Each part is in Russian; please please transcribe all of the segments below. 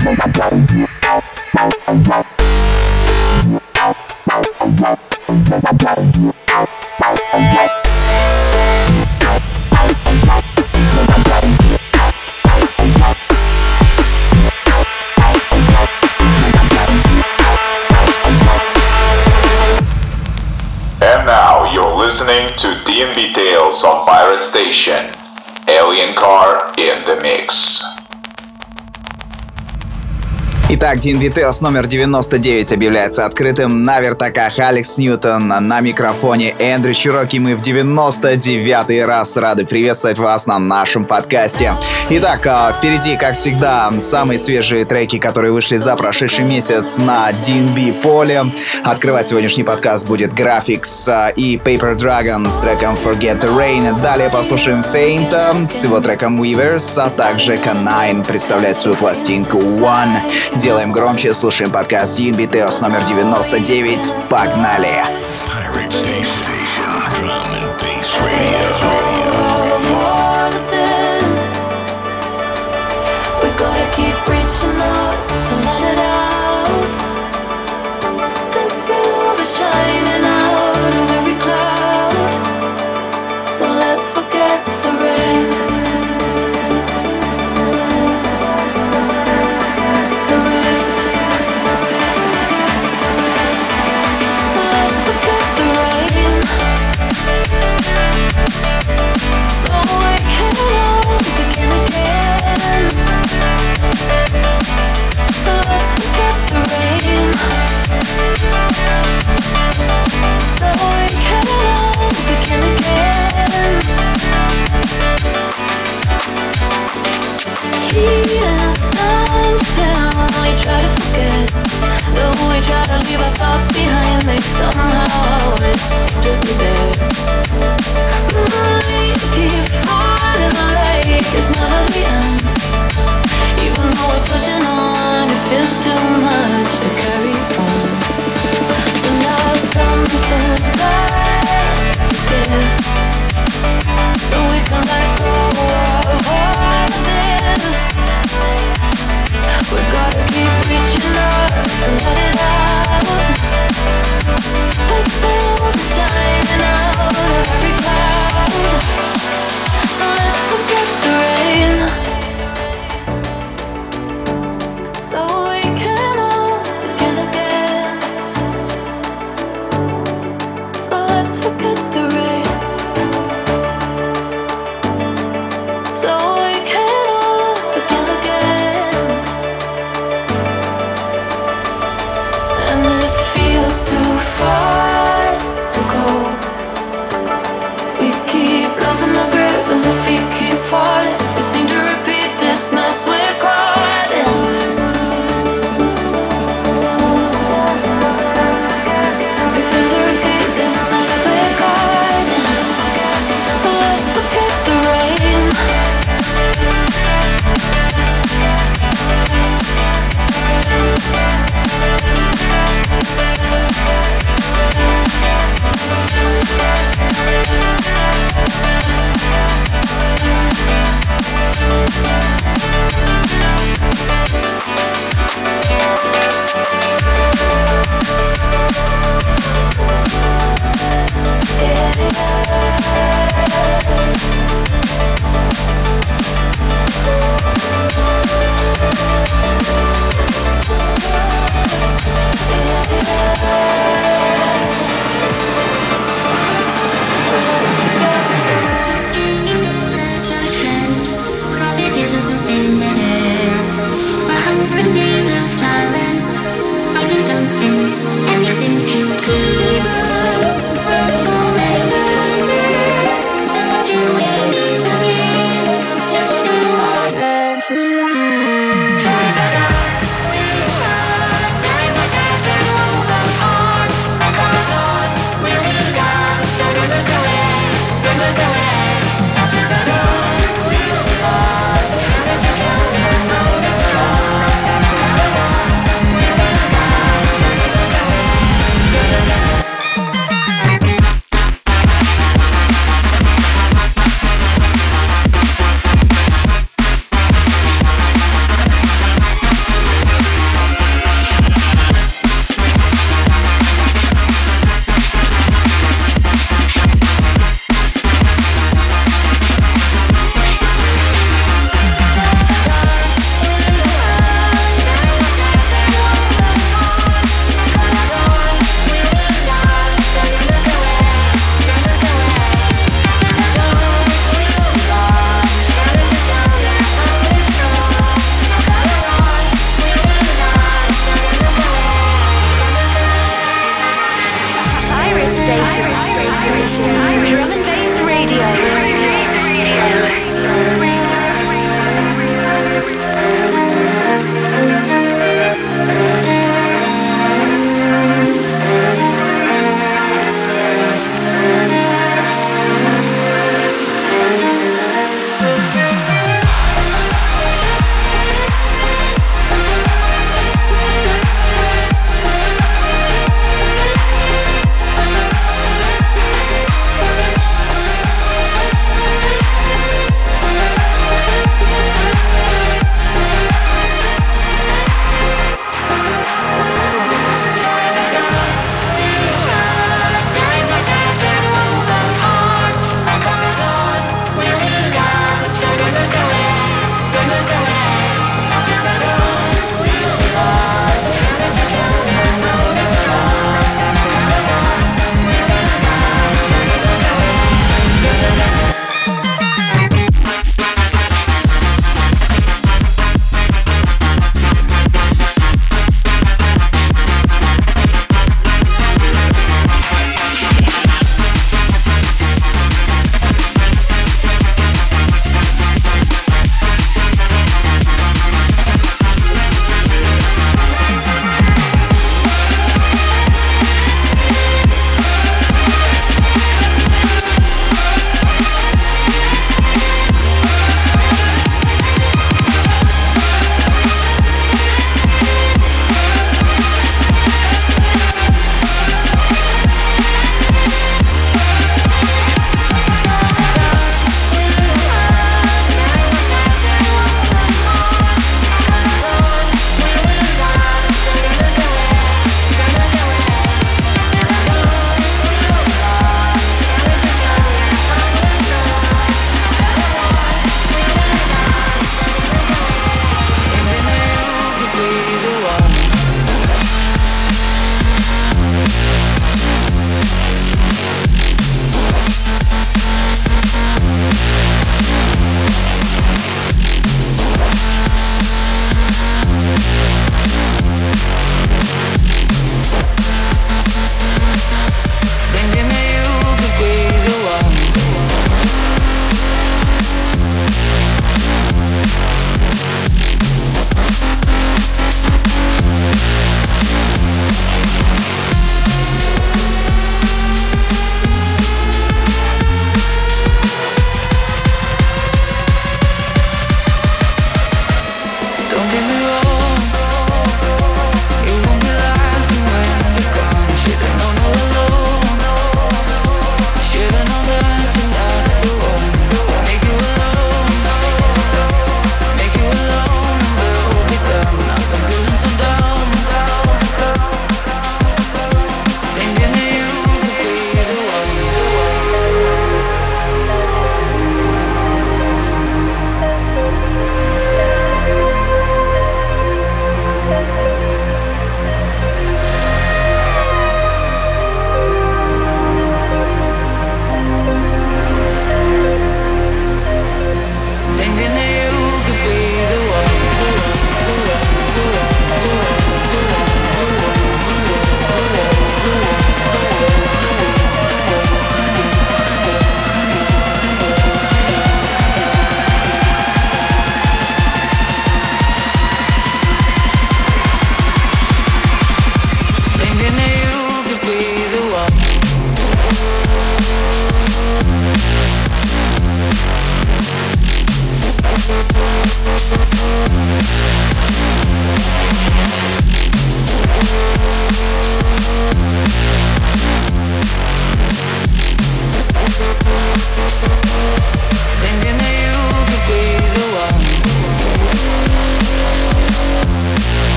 And now you're listening to DNB Tales on Pirate Station. Alien Car in the mix. Итак, DNB Tales номер 99 объявляется открытым. На вертаках Алекс Ньютон, на микрофоне Эндрю Чироки. Мы в 99-й раз рады приветствовать вас на нашем подкасте. Итак, впереди, как всегда, самые свежие треки, которые вышли за прошедший месяц на DNB поле. Открывать сегодняшний подкаст будет Graphics и Paper Dragon с треком Forget the Rain. Далее послушаем Faint с его треком Weavers, а также K9 представляет свою пластинку One. Делаем громче, слушаем подкаст DNB Tales номер 99. Погнали! Pirate Station, drum and bass radio. Keep reaching out to let it out. The silver shining out of every cloud. So let's forget the rain. The rain. So let's forget the rain. So we can all begin again. So let's forget the rain. So we can all begin again. Here's something we try to forget. Though we try to leave our thoughts behind, they somehow miss to be there. We keep falling like it's never the end. Even though we're pushing on, it feels too much to carry on. But now something's got to give, so we can let go of all of this. We gotta keep reaching up to let it out. The silver shining out of every cloud. So let's forget the rain.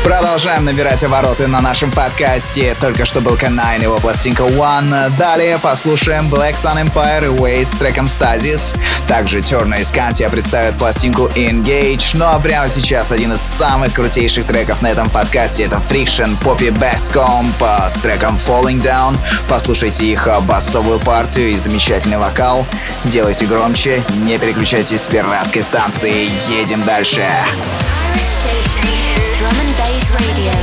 Продолжаем набирать обороты на нашем подкасте. Только что был K9, его пластинка One. Далее послушаем Black Sun Empire и Waze с треком Stasis. Также Turner и Scantia представят пластинку Engage. Ну а прямо сейчас один из самых крутейших треков на этом подкасте — это Friction, Poppy Basscomb с треком Falling Down. Послушайте их басовую партию и замечательный вокал. Делайте громче, не переключайтесь с пиратской станции. Едем дальше. Drum and bass radio.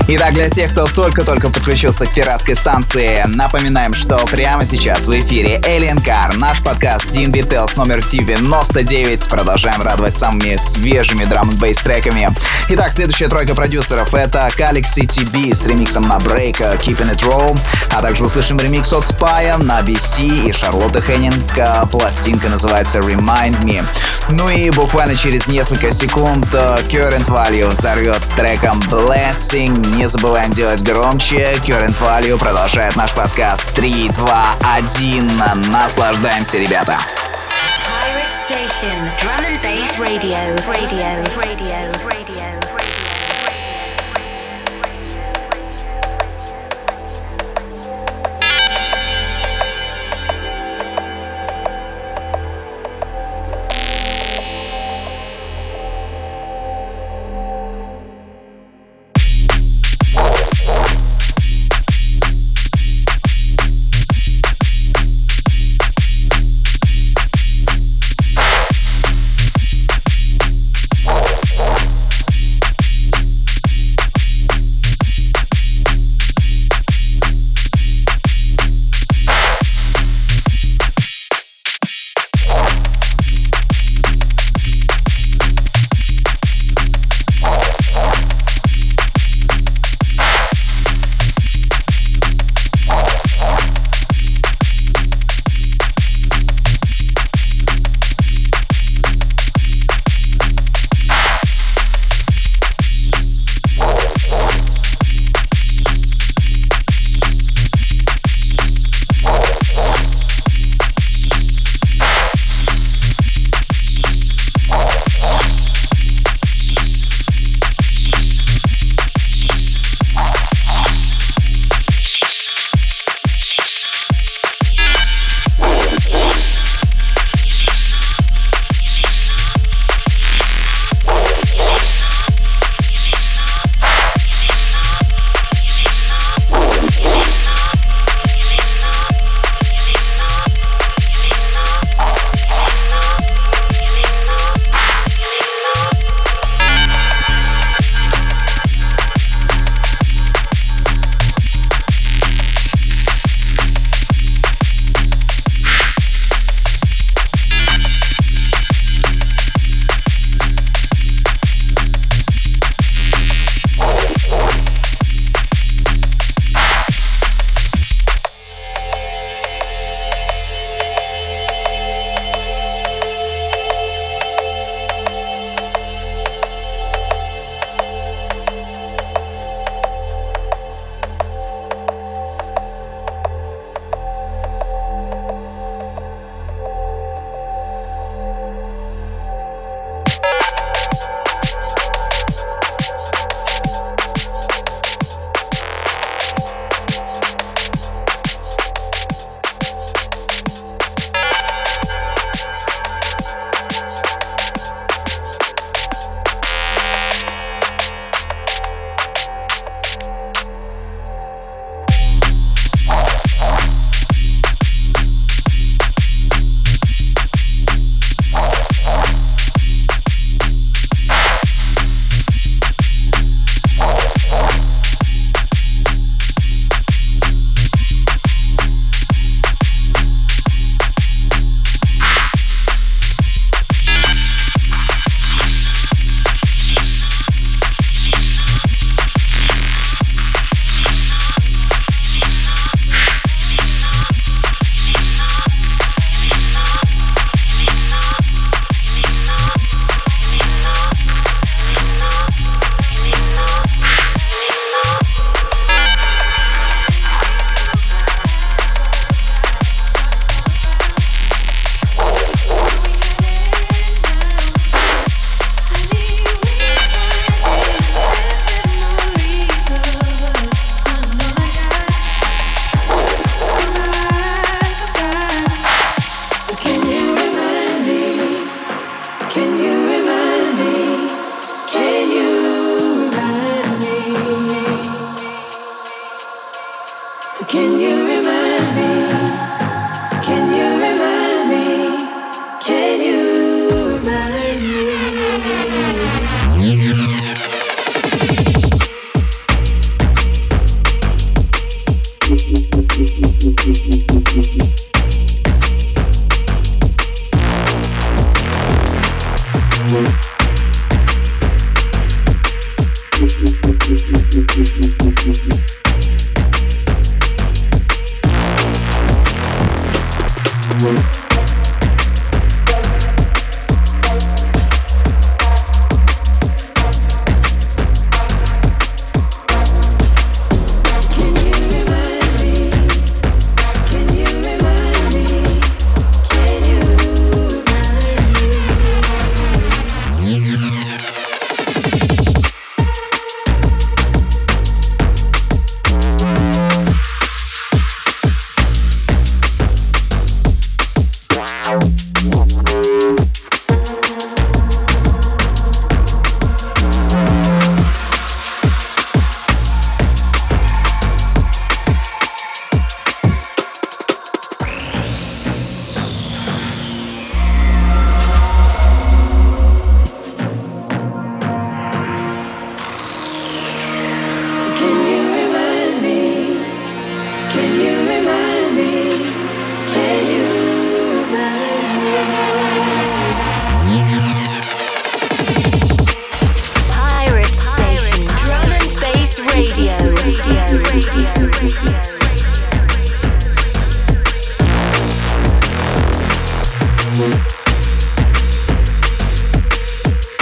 Итак, для тех, кто только-только подключился к пиратской станции, напоминаем, что прямо сейчас в эфире Alien Car, наш подкаст D&B Tales номер 99. Продолжаем радовать самыми свежими драм-н-бейс треками. Итак, следующая тройка продюсеров — это Galaxy TB с ремиксом на Break Keeping It Raw, а также услышим ремикс от Spy на BC и Шарлотты Хеннинг. Пластинка называется Remind Me. Ну и буквально через несколько секунд Current Value взорвет треком Blessing. Не забываем делать громче. Current Value продолжает наш подкаст. 3, 2, 1. Наслаждаемся, ребята. Pirate Station, Drum and Bass Radio.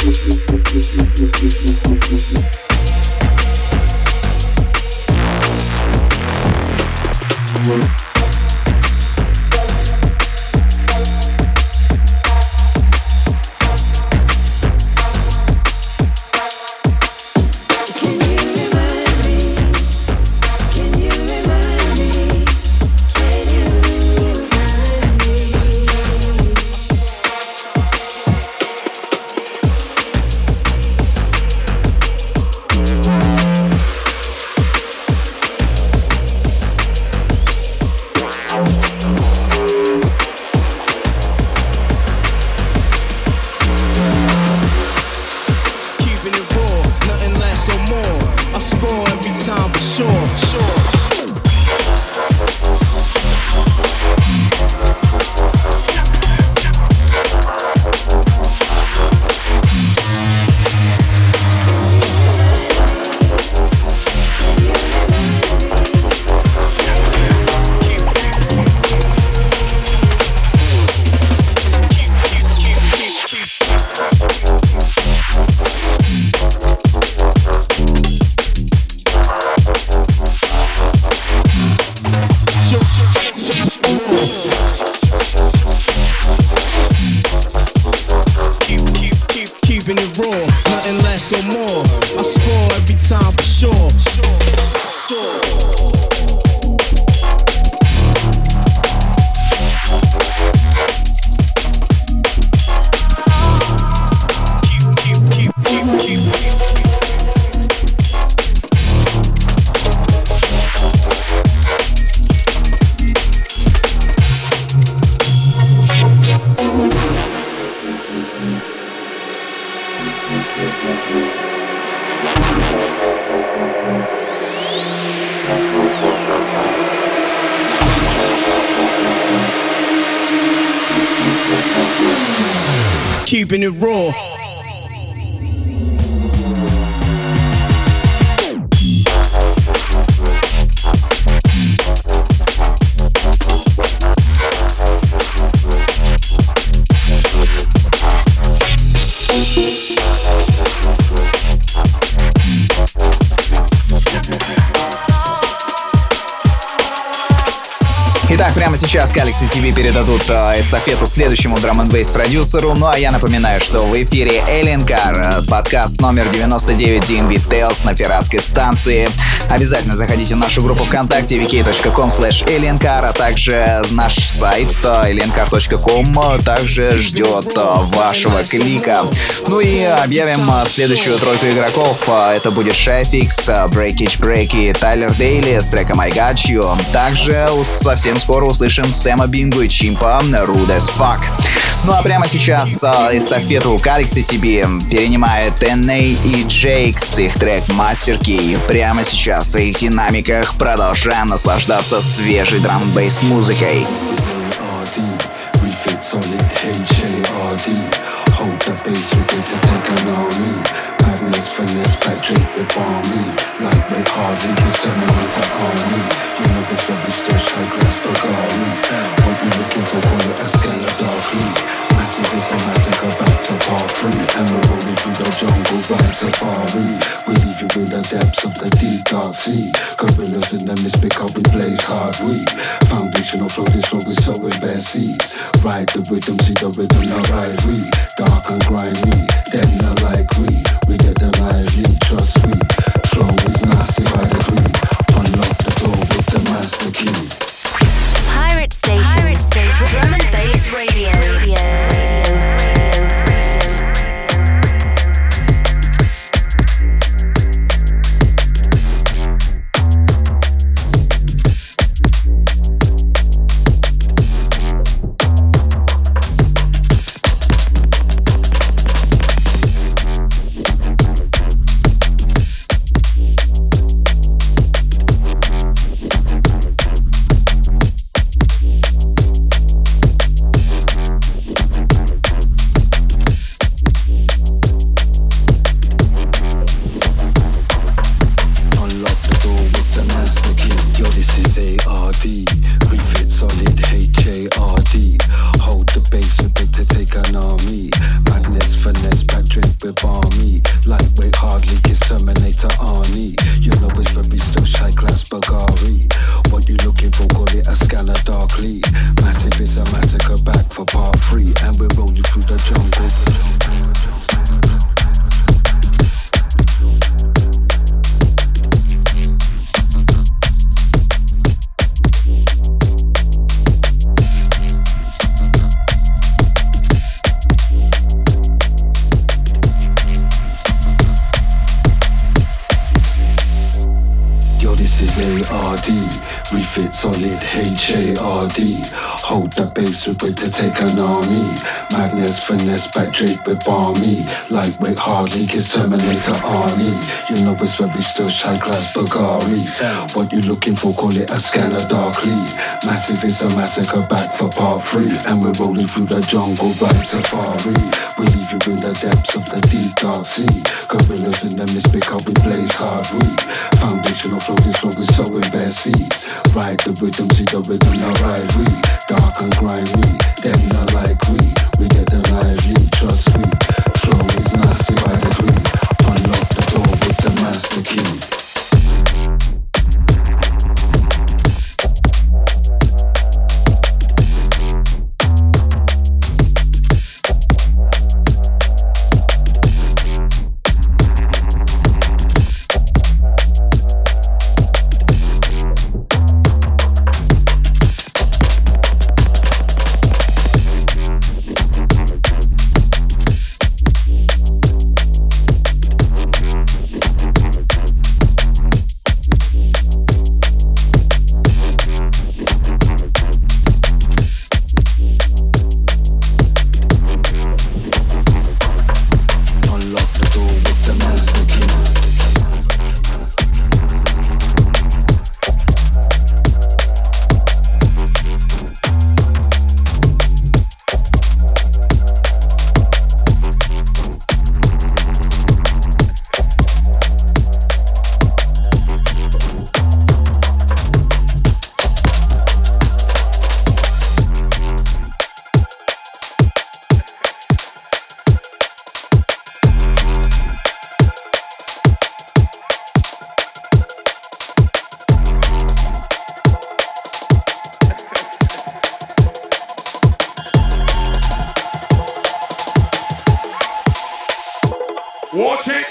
Keeping it raw. Итак, прямо сейчас Galaxy TV передадут эстафету следующему драм-н-бейс продюсеру. Ну а я напоминаю, что в эфире Alien Car, подкаст номер 99 DNB Tales на пиратской станции. Обязательно заходите в нашу группу ВКонтакте vk.com/aliencar, а также наш сайт aliencar.com также ждет вашего клика. Ну и объявим следующую тройку игроков. Это будет Шефикс, Breakage Break и Тайлер Дейли с треком I Got You. Также совсем скоро услышим Сэма Бингу и Чимпа Rude as Fuck. Ну а прямо сейчас эстафету Galaxy TV перенимает NA и Jakes, их трек Master Key. Прямо сейчас в твоих динамиках продолжаем наслаждаться свежей драм-н-бейс музыкой. Madness, finesse, Patrick with balmy. Lightweight, hard linkers turning into army. You know it's where we stash high class Bulgari. What you looking for, call it a scala darkly. Massive is a massacre back for part 3. And we're rolling through the jungle, rhyme safari. We leave you in the depths of the deep dark sea. Gorillas in the mist because we blaze hard weed. Foundational flow, this flow is so in bare seas. Ride the rhythm, see the rhythm, now ride we. Dark and grimy, them not like we. We get them lively, trust me. Flow is nasty by degree. Unlock the door with the master key. Pirate Station. Drum and Bass Radio. with balmy. Lightweight, hard leak is Terminator Arnie. You know it's very still shy class Bulgari. What you looking for, call it a scanner darkly. Massive is a massacre back for part 3. And we're rolling through the jungle. ARD, refit solid HARD. Hold the base with it to take an army. Magnus finesse back Drake with balmy. Lightweight hard leak is Terminator Arnie. You know it's very still shy glass Bulgari. What you looking for, call it a scanner darkly. Massive is a massacre back for part 3. And we're rolling through the jungle right safari. We leave you in the depths of the deep dark sea. Gorillas in the mist because we blaze hard weed. Foundational flow is what we sow in bare seeds. Ride the rhythm, see the rhythm, now ride we. Dark and grimy, them not like we. We get them lively, trust me. Flow is nasty by degree. Unlock the door with the master key. Watch it.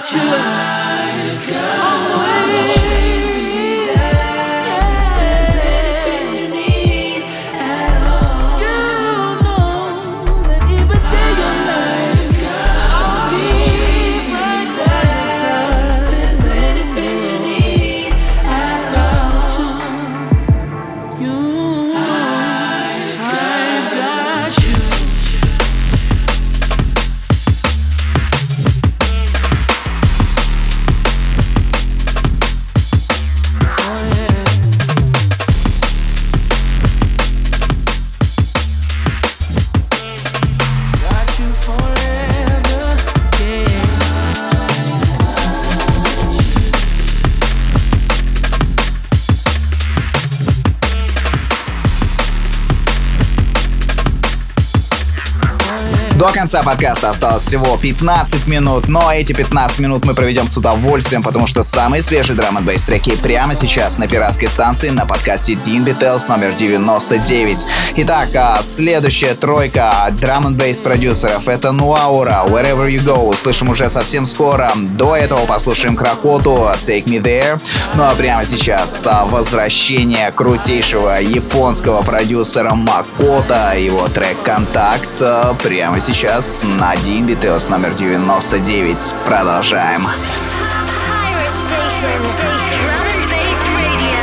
До конца подкаста осталось всего 15 минут, но эти 15 минут мы проведем с удовольствием, потому что самые свежие драм-н-бейс треки прямо сейчас на пиратской станции на подкасте D&B Tales номер 99. Итак, следующая тройка драм-н-бейс продюсеров — это Nuaura, Wherever You Go. Услышим уже совсем скоро. До этого послушаем Кракоту, Take Me There. Ну а прямо сейчас возвращение крутейшего японского продюсера Макото, его трек «Контакт» прямо сейчас на D&B Tales номер 99. Продолжаем. Pirate Station. Drum and Bass Radio.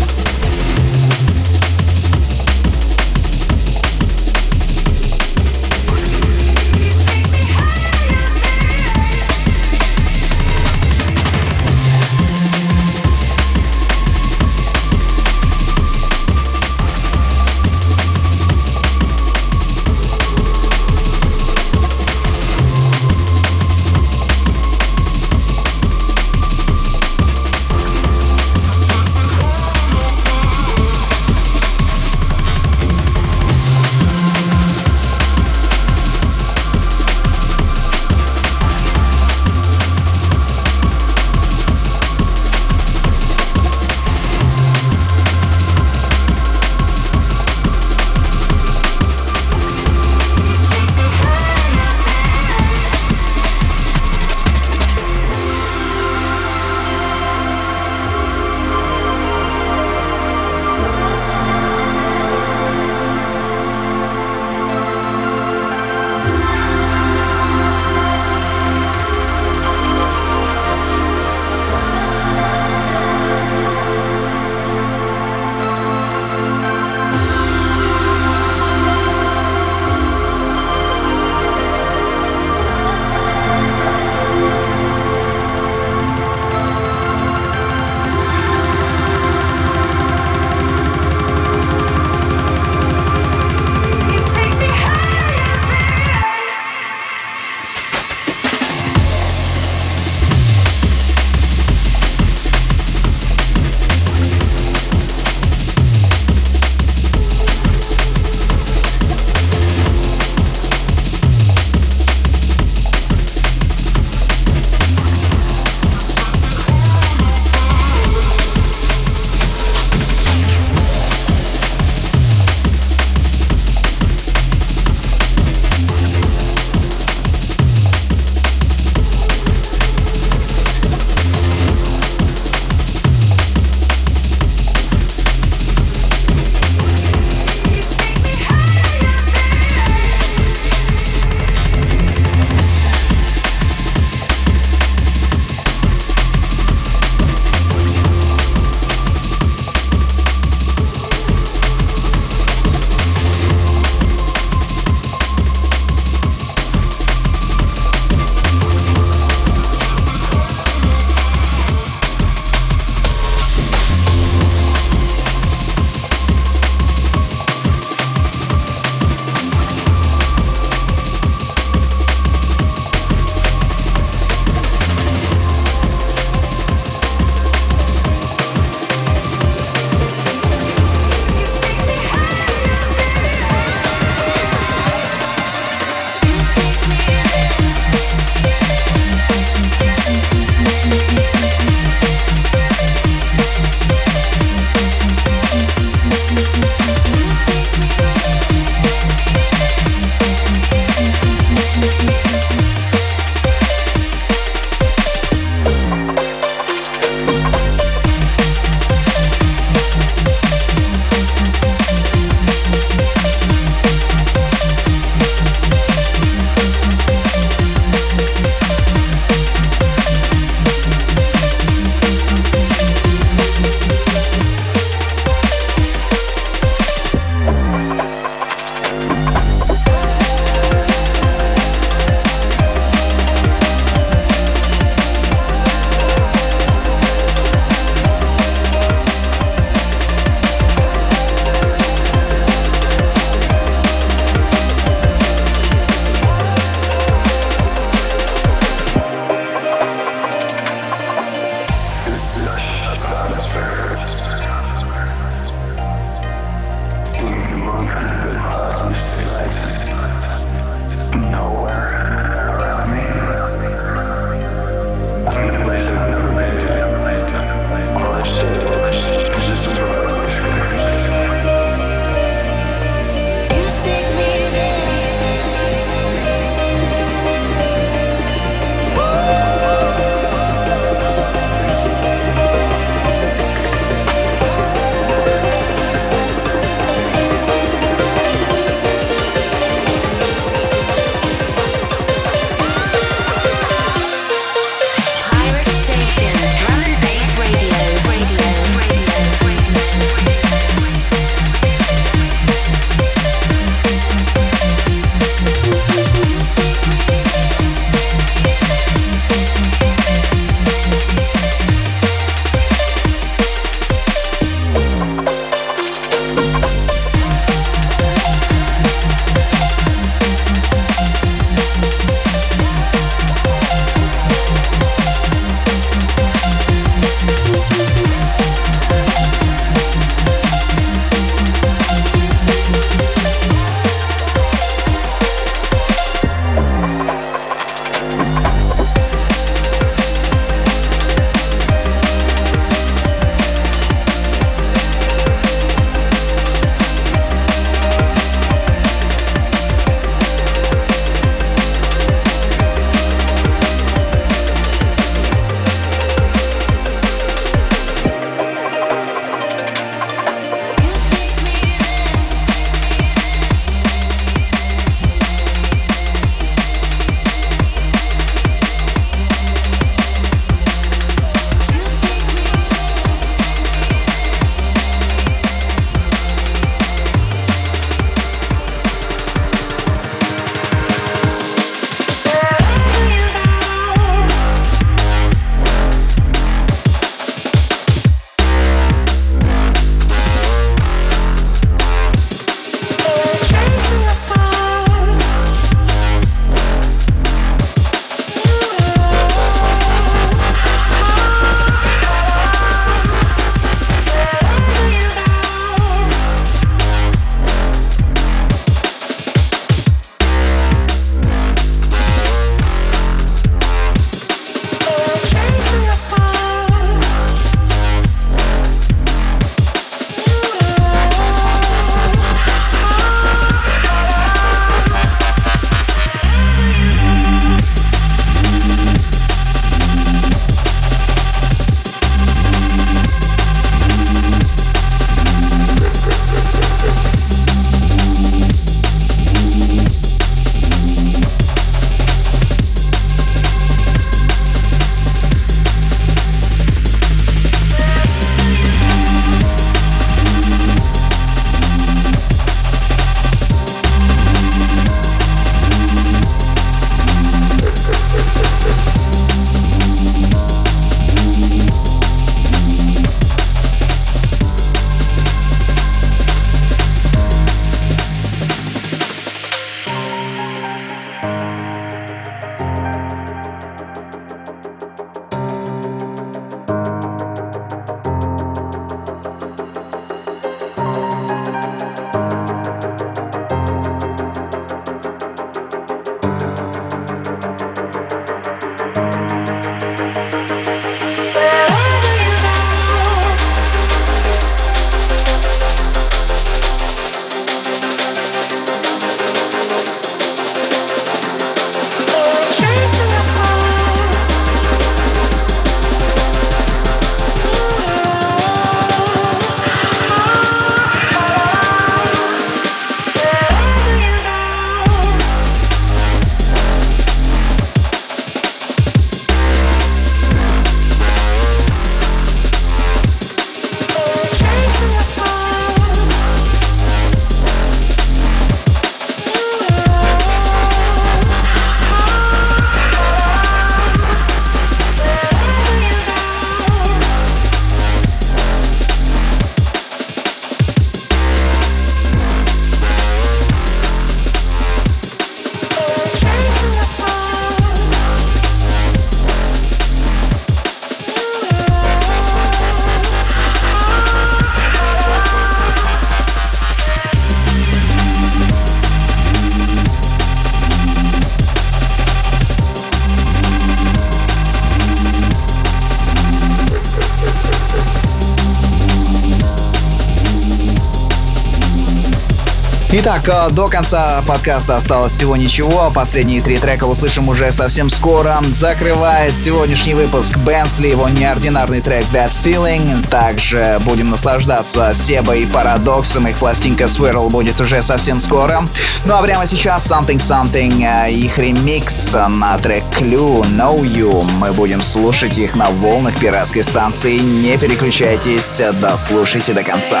Итак, до конца подкаста осталось всего ничего. Последние 3 трека услышим уже совсем скоро. Закрывает сегодняшний выпуск Бенсли, его неординарный трек That Feeling. Также будем наслаждаться Себа и Парадоксом. Их пластинка Swirl будет уже совсем скоро. Ну а прямо сейчас Something Something, их ремикс на трек Clue Know You. Мы будем слушать их на волнах пиратской станции. Не переключайтесь, дослушайте до конца.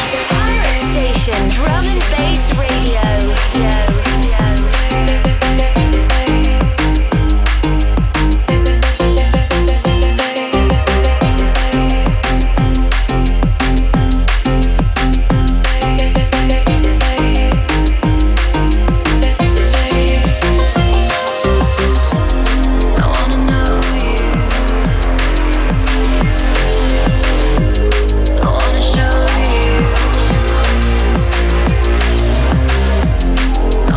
Drum and Bass Radio. I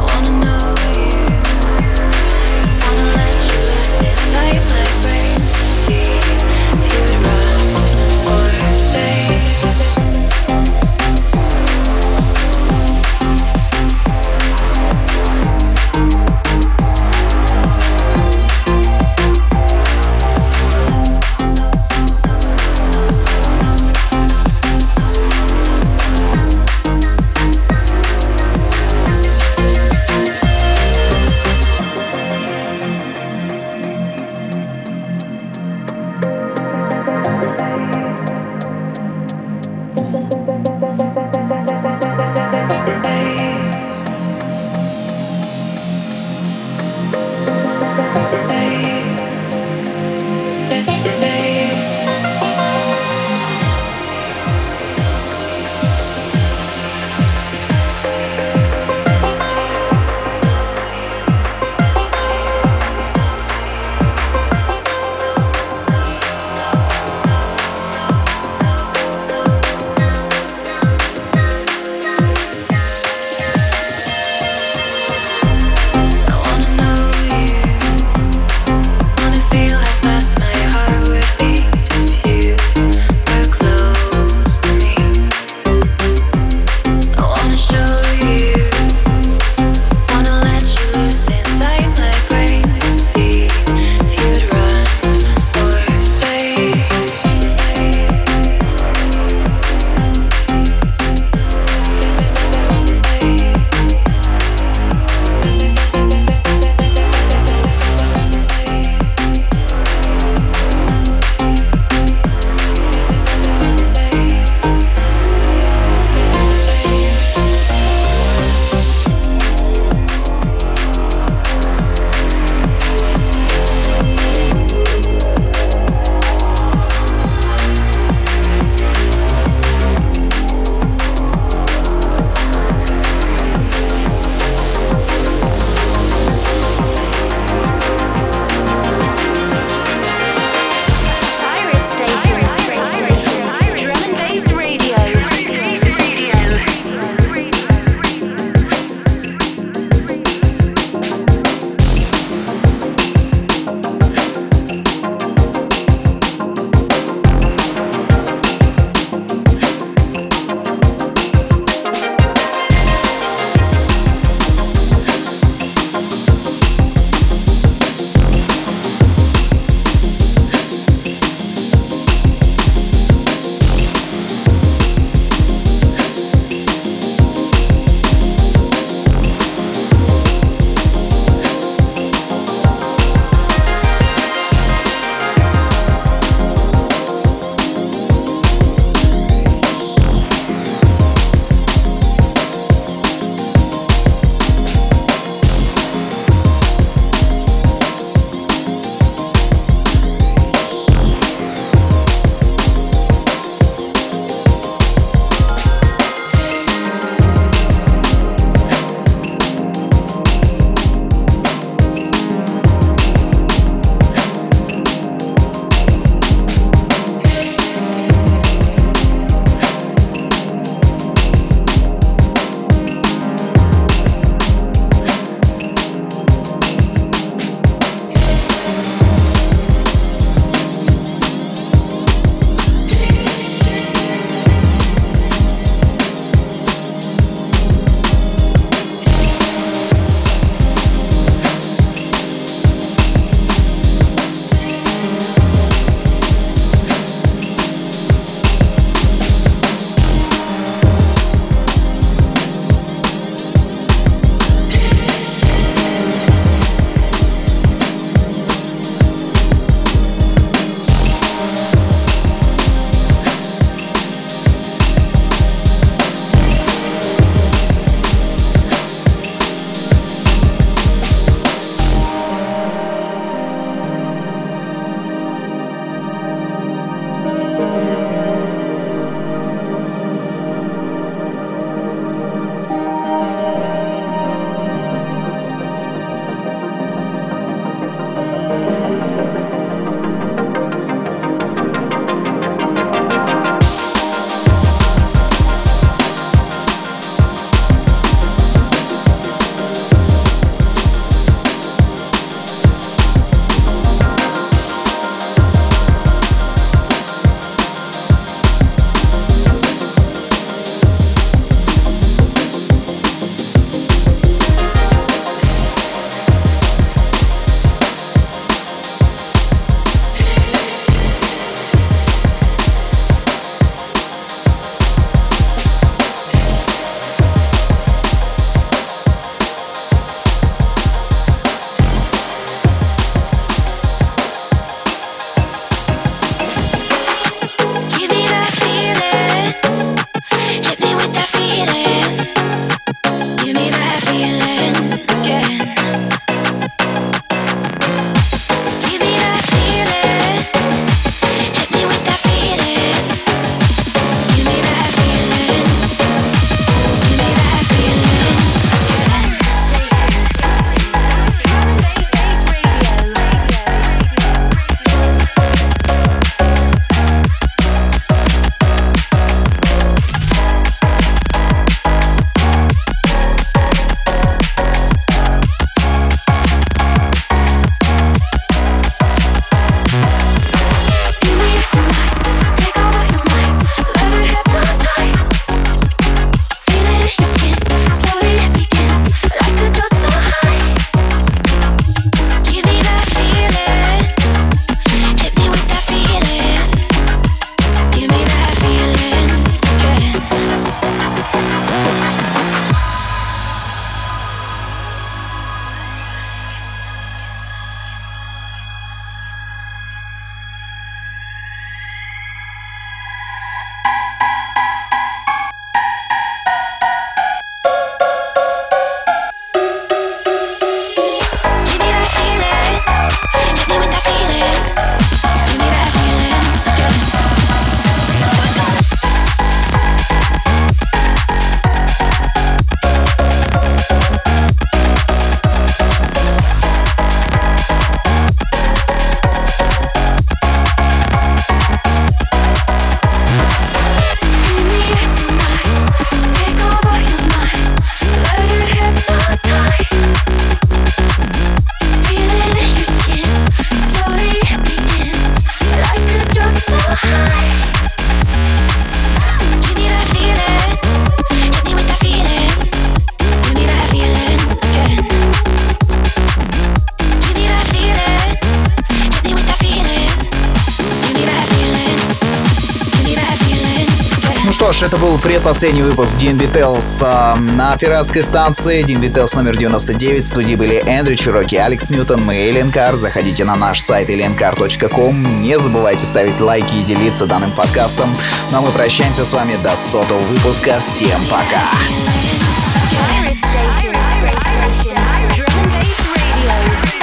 Ну что ж, это был предпоследний выпуск DNB Tales на пиратской станции. DNB Tales номер 99. В студии были Эндрю Чироки, Алекс Ньютон, мы Alien Car. Заходите на наш сайт aliencar.com. Не забывайте ставить лайки и делиться данным подкастом. Ну а мы прощаемся с вами до 100-го выпуска. Всем пока! Pirate Station. Drum and Bass Radio.